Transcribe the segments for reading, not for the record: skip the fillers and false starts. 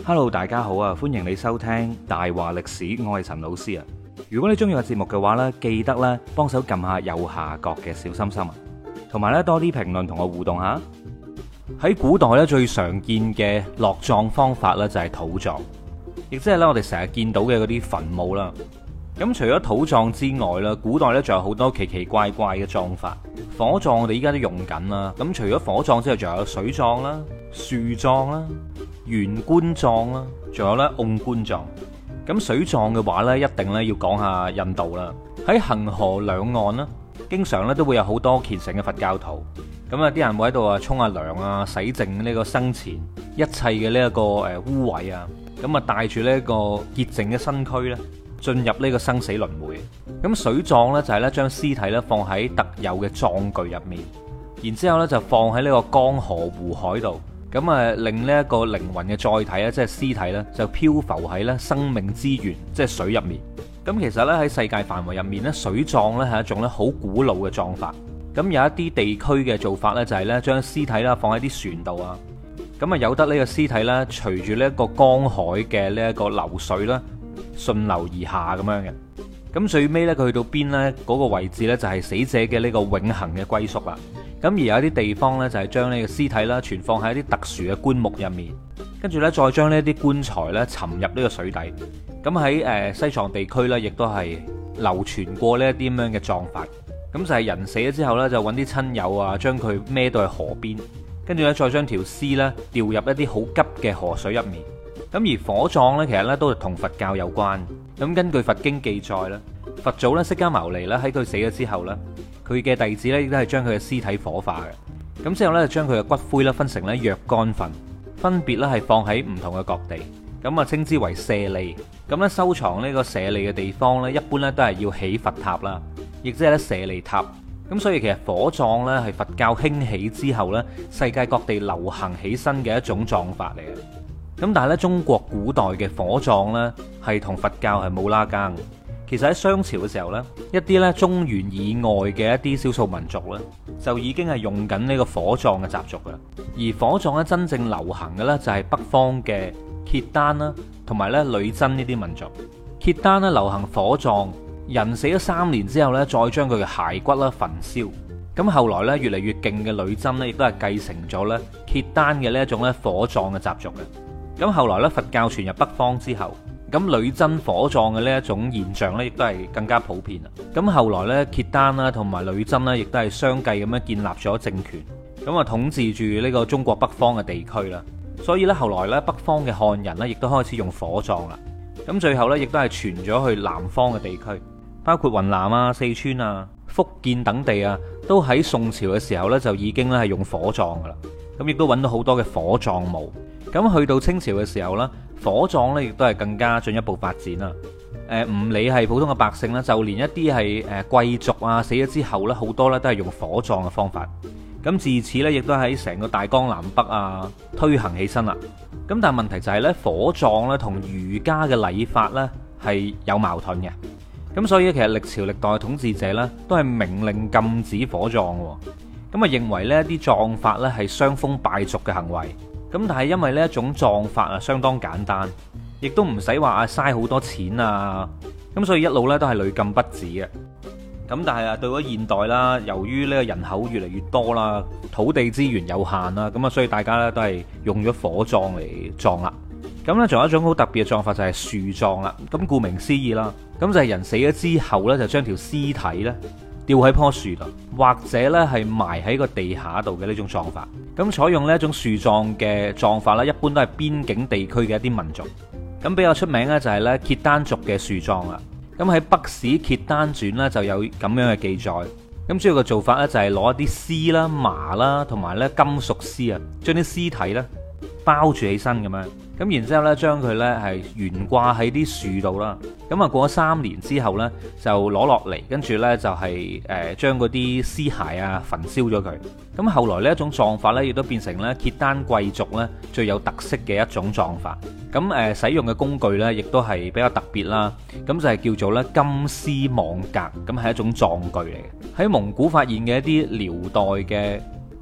Hello，大家好啊！歡迎你收聽大話歷史，我係陳老師啊。如果你中意個節目嘅話呢，記得咧幫手撳下右下角嘅小心心啊，同埋咧多啲評論同我互動下。喺古代咧最常見嘅落葬方法咧就係土葬，亦即係咧我哋成日見到嘅嗰啲墳墓啦。咁除咗土葬之外啦，古代咧仲有好多奇奇怪怪嘅葬法。火葬我哋依家都用緊啦。咁除咗火葬之外，仲有水葬啦、樹葬啦、懸棺葬啦，仲有咧甕棺葬。咁水葬嘅話咧，一定咧要講下印度啦。喺恒河兩岸啦，經常咧都會有好多虔誠嘅佛教徒。咁啊，啲人會喺度啊沖下涼啊，洗淨呢個生前一切嘅呢一個污穢啊。咁啊，帶住呢一個潔淨嘅身軀咧，進入呢個生死輪迴。咁水葬呢，就係咧將屍體咧放喺特有嘅葬具入面，然之後咧就放喺呢個江河湖海度，咁啊令呢一個靈魂嘅載體咧，即係屍體咧就漂浮喺咧生命之源，即係水入面。咁其實咧喺世界範圍入面咧，水葬咧係一種咧好古老嘅葬法。咁有一啲地區嘅做法咧就係咧將屍體啦放喺啲船度啊，咁啊由得呢個屍體咧隨住呢一個江海嘅呢一個流水啦順流而下咁樣嘅。咁最尾咧佢去到邊呢？嗰個位置咧就係死者嘅呢個永恆嘅歸宿啦。咁而有啲地方咧就係將呢個屍體啦存放喺一啲特殊嘅棺木入面，跟住咧再將呢啲棺材咧沉入呢個水底。咁喺西藏地區咧亦都係流傳過呢一啲咁樣嘅葬法。咁就係人死咗之後咧就揾啲親友啊將佢孭到去河邊，跟住咧再將條屍咧掉入一啲好急嘅河水入面。咁而火葬咧，其實咧都係同佛教有關。咁根據佛經記載咧，佛祖咧釋迦牟尼咧喺佢死咗之後咧，佢嘅弟子咧亦都係將佢嘅屍體火化嘅。咁之後咧就將佢嘅骨灰咧分成咧若干份，分別咧係放喺唔同嘅各地。咁啊稱之為舍利。咁咧收藏呢個舍利嘅地方咧，一般咧都係要起佛塔啦，亦即係咧舍利塔。咁所以其實火葬咧係佛教興起之後咧，世界各地流行起身嘅一種葬法嚟嘅。咁但係咧，中國古代嘅火葬呢，係同佛教係冇拉更。其實喺商朝嘅時候呢，一啲咧中原以外嘅一啲少數民族呢，就已經係用緊呢個火葬嘅習俗噶。而火葬咧真正流行嘅呢，就係北方嘅契丹啦，同埋咧女真呢啲民族。契丹呢流行火葬，人死咗3年之後呢，再將佢嘅骸骨啦焚燒。咁後來呢，越嚟越勁嘅女真呢，亦都係繼承咗咧契丹嘅呢一種咧火葬嘅習俗嘅。咁後來咧，佛教傳入北方之後，咁女真火葬嘅呢一種現象咧，亦都係更加普遍啦。咁後來咧，契丹啦同埋女真咧，亦都係相繼咁樣建立咗政權，咁啊統治住呢個中國北方嘅地區啦。所以咧，後來咧，北方嘅漢人咧，亦都開始用火葬啦。咁最後咧，亦都係傳咗去南方嘅地區，包括雲南啊、四川啊、福建等地啊，都喺宋朝嘅時候咧，就已經咧係用火葬噶啦。咁亦都揾到好多嘅火葬墓。咁去到清朝嘅時候呢，火葬呢亦都係更加進一步發展啦。唔理係普通嘅百姓啦，就連一啲係貴族啊死咗之後呢，好多呢都係用火葬嘅方法。咁自此呢，亦都喺成個大江南北啊推行起身啦。咁但係問題就係呢，火葬呢同儒家嘅禮法呢係有矛盾嘅。咁所以其實歷朝歷代嘅統治者呢，都係明令禁止火葬喎。咁啊認為呢一啲葬法呢係傷風敗俗嘅行為。咁但係因為呢一種葬法啊相當簡單，亦都唔使話啊嘥好多錢啊，咁所以一路咧都係屢禁不止嘅。咁但係啊到咗現代啦，由於呢個人口越嚟越多啦，土地資源有限啦，咁啊所以大家咧都係用咗火葬嚟葬啦。咁咧仲有一種好特別嘅葬法就係樹葬啦。咁顧名思義啦，咁就係人死咗之後咧就將條屍體咧吊喺棵樹度，或者咧係埋喺個地下度嘅呢種葬法。咁採用呢一種樹葬嘅葬法咧，一般都係邊境地區嘅一啲民族。咁比較出名咧就係咧契丹族嘅樹葬啦。咁喺《北史契丹傳》咧就有咁樣嘅記載。咁主要嘅做法咧就係攞一啲絲啦、麻啦同埋咧金屬絲啊，將啲屍體咧包住起身咁樣。咁然之後咧，將佢咧係懸掛喺啲樹度啦。咁啊，過咗3年之後咧，就攞落嚟，跟住咧就係將嗰啲屍骸啊焚燒咗佢。咁後來呢一種葬法咧，亦都變成咧契丹貴族咧最有特色嘅一種葬法。咁使用嘅工具咧，亦都係比較特別啦。咁就係叫做咧金絲網格，咁係一種葬具嚟嘅。喺蒙古發現嘅一啲遼代嘅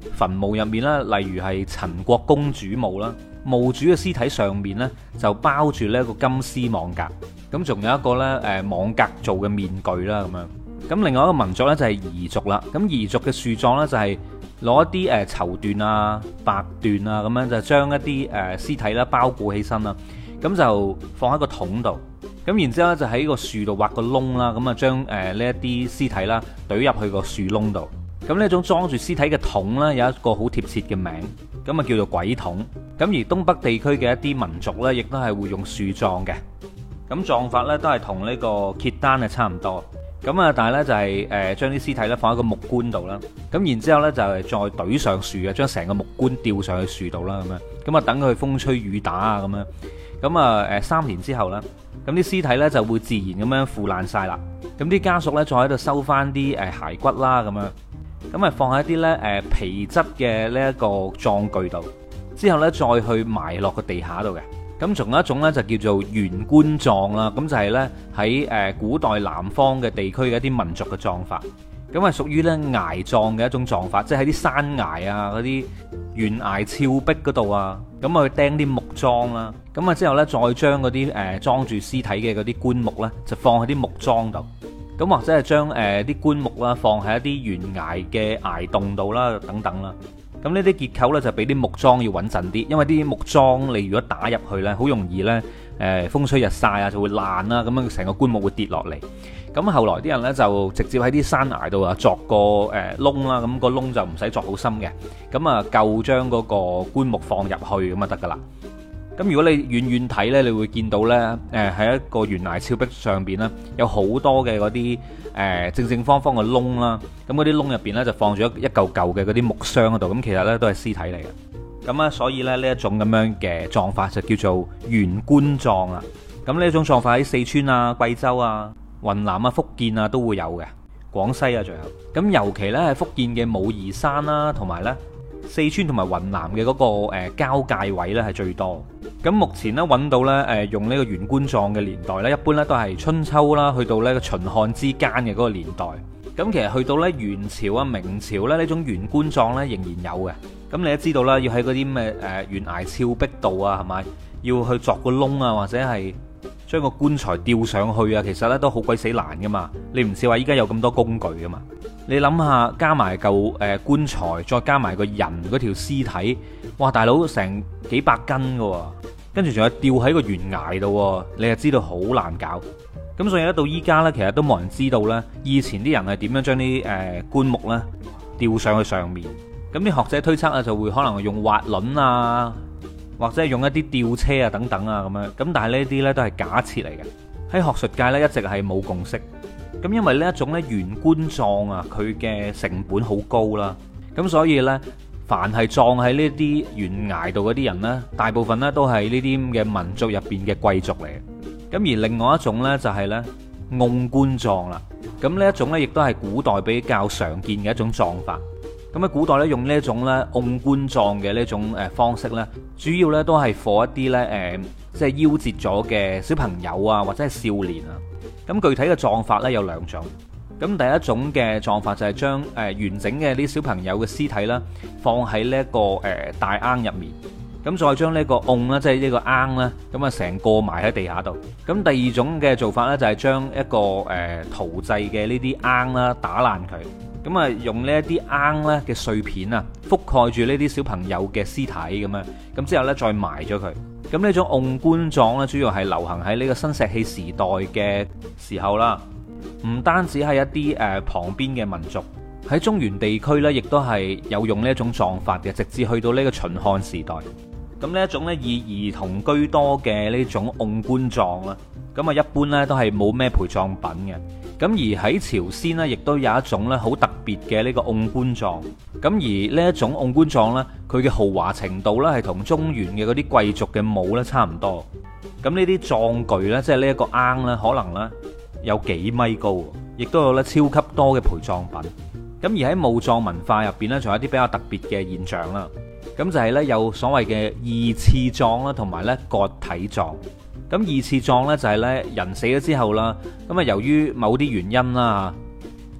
墳墓入面啦，例如係陳國公主墓啦，墓主嘅屍體上面呢，就包住呢一個金絲網格，咁仲有一個呢網格做嘅面具啦咁樣。咁另外一個民族呢，就係彝族啦，咁彝族嘅樹葬呢，就係攞一啲綢緞啊、白緞啊咁樣，就將一啲屍體啦包裹起身啦，咁就放喺個桶度，咁然之後咧就喺個樹度挖個窿啦，咁啊將呢一啲屍體啦懟入去個樹窿度。咁呢一種裝住屍體嘅桶呢，有一個好貼切嘅名，咁啊叫做鬼桶。咁而東北地區嘅一啲民族呢，亦都係會用樹葬嘅。咁葬法呢，都係同呢個揭單係差唔多。咁啊，但係呢，就係將啲屍體呢放喺個木棺度啦。咁然之後呢，就係再懟上樹嘅，將成個木棺吊上去樹度啦咁樣。咁啊等佢風吹雨打啊咁樣。咁啊3年之後呢，咁啲屍體呢就會自然咁樣腐爛晒啦。咁啲家屬呢，再喺度收翻啲骸骨啦咁樣。咁啊放喺啲咧皮質嘅呢一個葬具度，之後咧再去埋落個地下度嘅。咁仲有一種咧就叫做懸棺葬啦，咁就係咧喺古代南方嘅地區嘅一啲民族嘅葬法。咁係屬於咧崖葬嘅一種葬法，即係喺啲山崖啊嗰啲懸崖峭壁嗰度啊，咁啊去釘啲木樁啦。咁啊之後咧再將嗰啲裝住屍體嘅嗰啲棺木咧就放喺啲木樁度。咁或者係將啲棺木啦放喺一啲懸崖嘅崖洞度啦，等等啦。咁呢啲結構呢，就比啲木樁要穩陣啲，因為啲木樁你如果打入去呢，好容易呢風吹日曬啊就會爛啦，咁樣成個棺木會跌落嚟。咁後來啲人呢，就直接喺啲山崖度啊鑿個窿啦，咁個窿就唔使鑿好深嘅，咁啊夠將嗰個棺木放入去咁就得噶啦。咁如果你遠遠睇呢，你會見到呢，喺一個懸崖峭壁上邊呢，有好多嘅嗰啲正正方方嘅窿啦。咁嗰啲窿入邊呢，就放咗一嚿嚿嘅嗰啲木箱嗰度。咁其實呢，都係屍體嚟嘅。咁啊，所以咧呢一種咁樣嘅葬法就叫做懸棺葬啦。咁呢一種葬法喺四川啊、貴州啊、雲南啊、福建啊都會有嘅，廣西啊仲有。咁尤其呢，係福建嘅武夷山啦，同埋呢四川同埋雲南嘅嗰個交界位呢係最多。咁目前呢，揾到呢用呢個懸棺葬嘅年代呢，一般呢都係春秋啦，去到呢個秦漢之間嘅嗰個年代。咁其實去到呢元朝啊、明朝呢，呢種懸棺葬呢仍然有嘅。咁你都知道啦，要喺嗰啲咩懸崖峭壁度啊，係咪要去鑿個窿啊，或者係將個棺材吊上去啊，其實呢都好鬼死難噶嘛。你唔似話依家有咁多工具噶嘛。你諗下，加埋嚿棺材，再加埋個人嗰條屍體，哇！大佬成幾百斤噶喎，跟住仲有吊喺個懸崖度，你就知道好難搞。咁所以咧，到依家呢，其實都冇人知道呢，以前啲人係點樣將啲棺木呢吊上去上面。咁啲學者推測啊，就會可能用滑輪啊，或者係用一啲吊車啊等等啊咁樣。咁但係呢啲呢，都係假設嚟嘅，喺學術界呢，一直係冇共識。咁因為呢一種咧懸棺葬啊，佢嘅成本好高啦，咁所以呢，凡係葬喺呢啲懸崖度嗰啲人呢，大部分呢都係呢啲咁嘅民族入邊嘅貴族嚟嘅。咁而另外一種呢，就係呢甕棺葬啦。咁呢一種呢，亦都係古代比較常見嘅一種葬法。咁喺古代呢，用呢一種呢甕棺葬嘅呢種方式呢，主要呢都係for一啲呢即係夭折咗嘅小朋友啊，或者係少年啊。咁具體嘅葬法呢，有兩種。咁第一種嘅葬法就係將完整嘅啲小朋友嘅屍體啦，放喺呢一個大甕入面，咁再將呢個甕啦，即係呢個甕啦，咁啊成個埋喺地下度。咁第二種嘅做法呢，就係將一個陶製嘅呢啲甕啦打爛佢，咁啊用呢一啲甕咧嘅碎片啊覆蓋住呢啲小朋友嘅屍體咁樣，咁之後呢，再埋咗佢。咁呢種甕棺葬咧，主要係流行喺呢個新石器時代嘅時候啦。唔單止係一啲旁邊嘅民族，喺中原地區呢，亦都係有用呢一種葬法嘅，直至去到呢個秦漢時代。咁呢一種呢，以兒童居多嘅呢種甕棺葬啦，咁啊一般呢都係冇咩陪葬品嘅。咁而喺朝鮮呢，亦都有一種呢好特別嘅呢個甕棺葬。咁而呢一種甕棺葬呢，佢嘅豪華程度呢，係同中原嘅嗰啲貴族嘅墓呢差唔多。咁呢啲葬具呢，即係呢一個甕呢，可能呢有幾米高，亦都有呢超級多嘅陪葬品。咁而喺墓葬文化入邊呢，仲有一啲比較特別嘅現象啦。咁就係呢，有所謂嘅二次葬啦，同埋呢割體葬。咁二次葬呢，就係呢人死咗之後啦，咁啊由於某啲原因啦，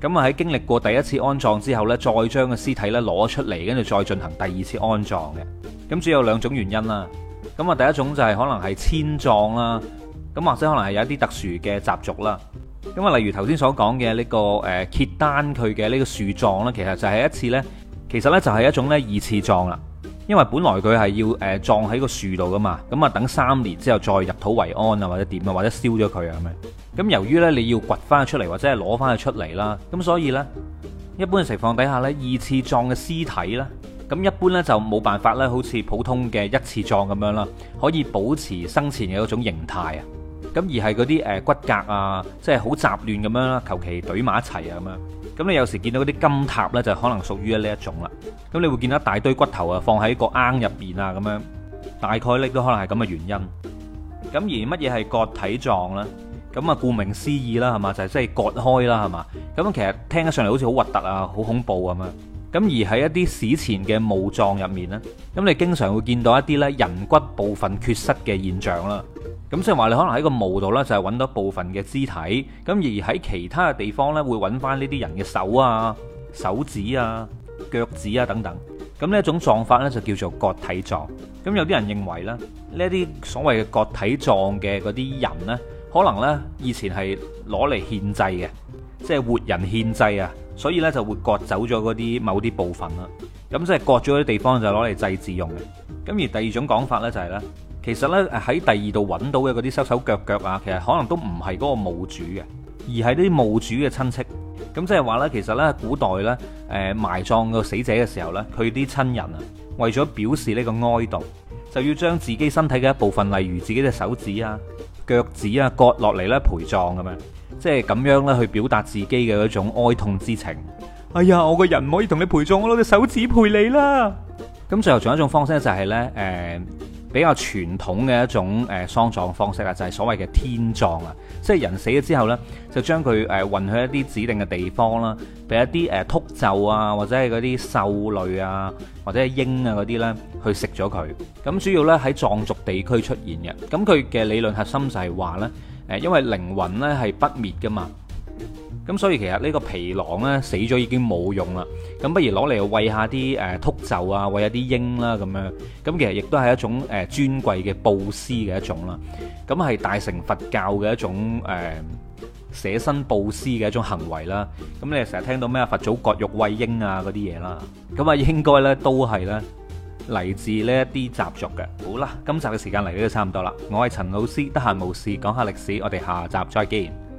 咁啊喺經歷過第一次安葬之後呢，再將個屍體呢攞出嚟，跟住再進行第二次安葬嘅。咁主要有2種原因啦。咁啊第一種就係可能係遷葬啦，咁或者可能係有一啲特殊嘅習俗啦。咁啊例如頭先所講嘅呢個揭單佢嘅呢個樹葬呢，其實就係一次呢，其實呢就係一種呢二次葬啦。因為本來佢係要葬喺個樹度噶嘛，咁啊等3年之後再入土為安啊，或者點啊，或者燒咗佢啊咁樣。咁由於呢，你要掘翻佢出嚟，或者係攞翻佢出嚟啦，咁所以呢，一般嘅情況底下呢，二次葬嘅屍體呢，咁一般呢就冇辦法呢，好似普通嘅一次葬咁樣啦，可以保持生前嘅嗰種形態啊。咁而係嗰啲骨骼啊，即係好雜亂咁樣啦，求其懟埋一齊啊咁樣。咁你有時見到嗰啲金塔呢，就可能屬於呢一種啦。咁你會見到一大堆骨頭啊，放喺個罌入邊啊，咁樣大概呢都可能係咁嘅原因。咁而乜嘢係割體葬呢？咁啊，顧名思義啦，係嘛，就係即係割開啦，係嘛。咁其實聽得上嚟好似好核突啊，好恐怖咁樣。咁而喺一啲史前嘅墓葬入面呢，咁你經常會見到一啲呢人骨部分缺失嘅現象啦。咁即係話你可能喺個墓度呢，就係揾到部分嘅肢體，咁而喺其他嘅地方呢，會揾翻呢啲人嘅手啊、手指啊、腳趾啊等等。咁呢一種葬法呢，就叫做割體葬。咁有啲人認為咧，呢一啲所謂嘅割體葬嘅嗰啲人呢，可能呢以前係攞嚟獻祭嘅，即係活人獻祭啊，所以呢就會割走咗嗰啲某啲部分啦。咁即係割咗啲地方就攞嚟祭祀用嘅。咁而第二種講法呢，就係呢。其實咧喺第二度揾到嘅嗰啲手手腳腳啊，其實可能都唔係嗰個墓主嘅，而係啲墓主嘅親戚。咁即係話呢，其實呢，古代呢，埋葬個死者嘅時候呢，佢啲親人啊，為咗表示呢個哀悼，就要將自己身體嘅一部分，例如自己嘅手指啊、腳趾啊割落嚟呢陪葬咁樣，即係咁樣呢去表達自己嘅嗰種哀痛之情。哎呀，我個人唔可以同你陪葬，我攞隻手指陪你啦。咁最後仲有一種方式就係呢。比較傳統嘅一種喪葬方式啊，就係所謂嘅天葬啊，即係人死咗之後呢，就將佢運去一啲指定嘅地方啦，俾一啲禿鷲啊，或者係嗰啲獸類啊，或者係鷹啊嗰啲呢去食咗佢。咁主要呢喺藏族地區出現嘅。咁佢嘅理論核心就係話呢，因為靈魂呢係不滅噶嘛。咁所以其實呢個皮囊呢，死咗已經冇用啦，咁不如攞嚟餵下啲禿鷲啊，餵下啲鷹啦咁樣，咁其實亦都係一種尊貴嘅布施嘅一種啦，咁係大乘佛教嘅一種捨身布施嘅一種行為啦。咁你成日聽到咩佛祖割肉餵鷹啊嗰啲嘢啦，咁啊應該呢都係呢嚟自呢一啲習俗嘅。好啦，今集嘅時間嚟到都差唔多啦，我係陳老師，得閒無事講下歷史，我哋下集再見。